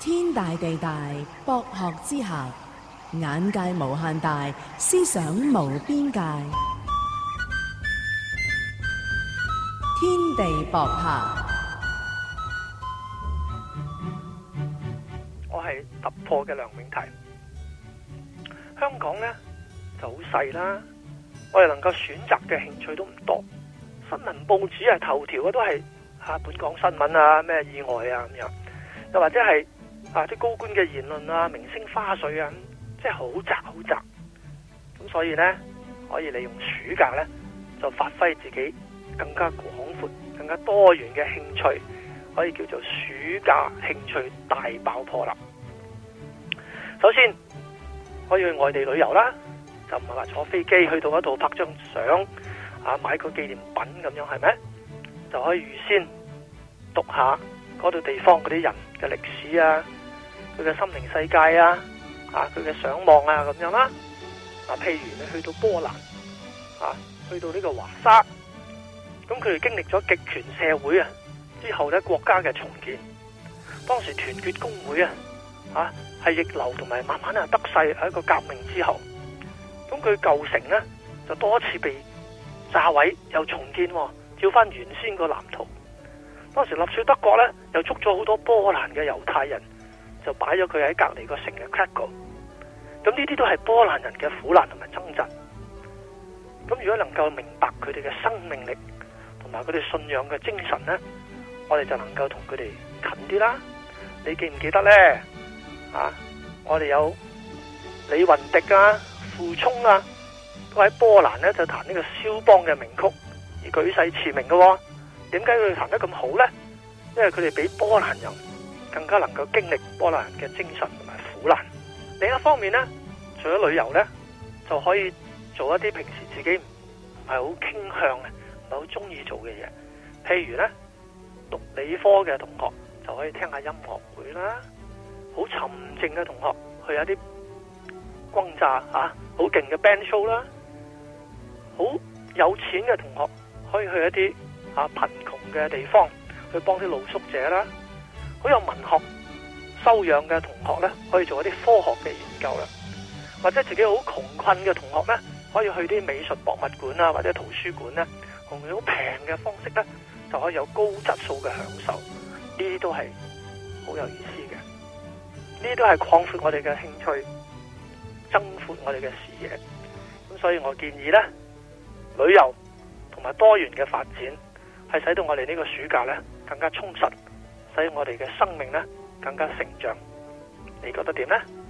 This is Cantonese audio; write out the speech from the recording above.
天大地大，博學之下，眼界無限大，思想無邊界。天地博客， 我係突破嘅梁永提。香港呢就好細啦，我哋能夠選擇嘅興趣都唔多。新聞報紙頭條嘅都係本港新聞啊，咩意外啊咁樣，又或者係啲高官嘅言論啊、明星花絮啊，即係好窄好窄。咁所以呢，可以利用暑假呢，就發揮自己更加廣闊、更加多元嘅興趣，可以叫做暑假興趣大爆破啦。首先可以去外地旅遊啦，就唔係話坐飛機去到嗰度拍張相買個紀念品咁樣，係咪？就可以預先讀下嗰度地方嗰啲人嘅歷史啊，佢嘅心靈世界啊，佢嘅想望啊咁樣啦。譬如你去到波蘭去到呢個華沙，咁佢哋經歷咗極權社會之後呢，國家嘅重建，當時團結工會係逆流同埋慢慢得勢，喺一個革命之後，咁佢舊城呢就多次被炸毀又重建，照翻原先個藍圖。當時納粹德國呢又捉咗好多波蘭嘅猶太人，就擺咗佢喺隔離個城嘅 Krakow。咁呢啲都係波蘭人嘅苦難同埋掙扎。咁如果能夠明白佢哋嘅生命力同埋佢哋信仰嘅精神呢，我哋就能夠同佢哋近啲啦。你記唔記得呢？我哋有李雲迪傅聰都喺波蘭呢就彈呢個肖邦嘅名曲而舉世馳名嘅。點解佢哋彈得咁好呢？因為佢哋比波蘭人更加能夠經歷波蘭人嘅精神同埋苦難。另一方面呢，除咗旅遊呢，就可以做一啲平時自己唔係好傾向嘅、唔係好中意做嘅嘢。譬如呢，讀理科嘅同學就可以聽下音樂會啦。好沉靜嘅同學去有啲轟炸好勁嘅 band show 啦。好有錢嘅同學可以去一啲貧窮嘅地方去幫啲露宿者啦。好有文學修養嘅同學呢，可以做一啲科學嘅研究啦。或者自己好窮困嘅同學呢，可以去啲美術博物館或者圖書館呢，用好平嘅方式呢，就可以有高質素嘅享受。呢啲都係好有意思嘅。呢啲都係擴闊我哋嘅興趣，增闊我哋嘅視野。咁所以我建議呢，旅遊同埋多元嘅發展係使到我哋呢個暑假呢更加充實，使我哋嘅生命呢更加成長。你覺得點呢？